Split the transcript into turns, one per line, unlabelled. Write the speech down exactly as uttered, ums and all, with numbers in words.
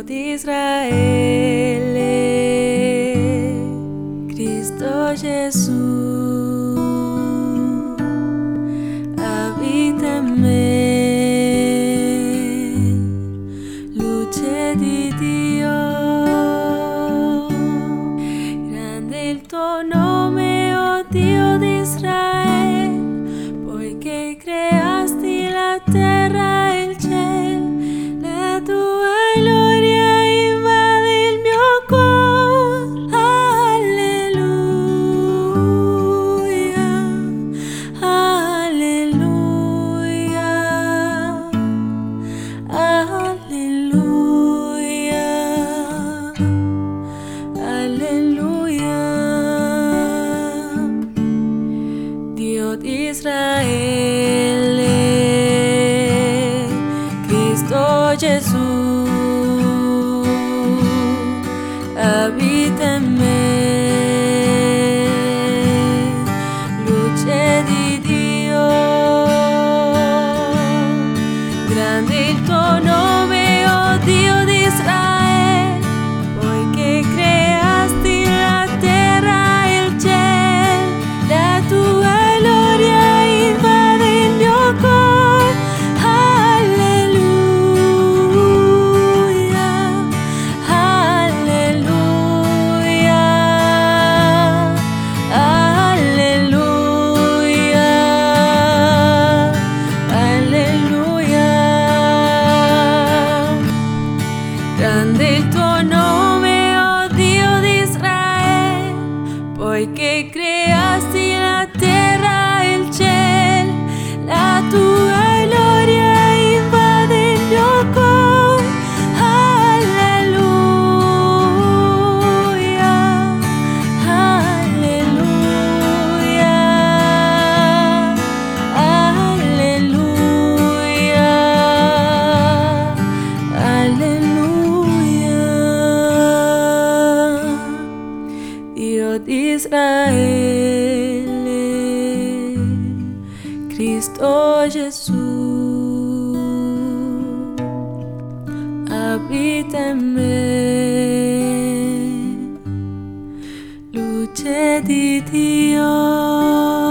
Dio di Israele, Cristo Gesù, abita en me, luce di Dio, grande il tuo nome, oh Dio di Israele, poiché creasti la terra e il cielo, la tua gloria invade il mio cuore. Alleluia, alleluia, alleluia, alleluia. Dio di Israele, Cristo Gesù, abita en me, luce di Dio, grande il tuo nome, oh Dio di Israele, poiché creasti la terra e il cielo, la tua gloria invade il mio cuore. Alleluia, alleluia, alleluia, alleluia. Grande il tuo nome, oh Dio di Israele, poiché creasti la terra e il cielo, la tua gloria invade il mio cuore. Alleluia, alleluia, alleluia, alleluia. Dio di Israele, Cristo Gesù, abita en me, luce di Dio.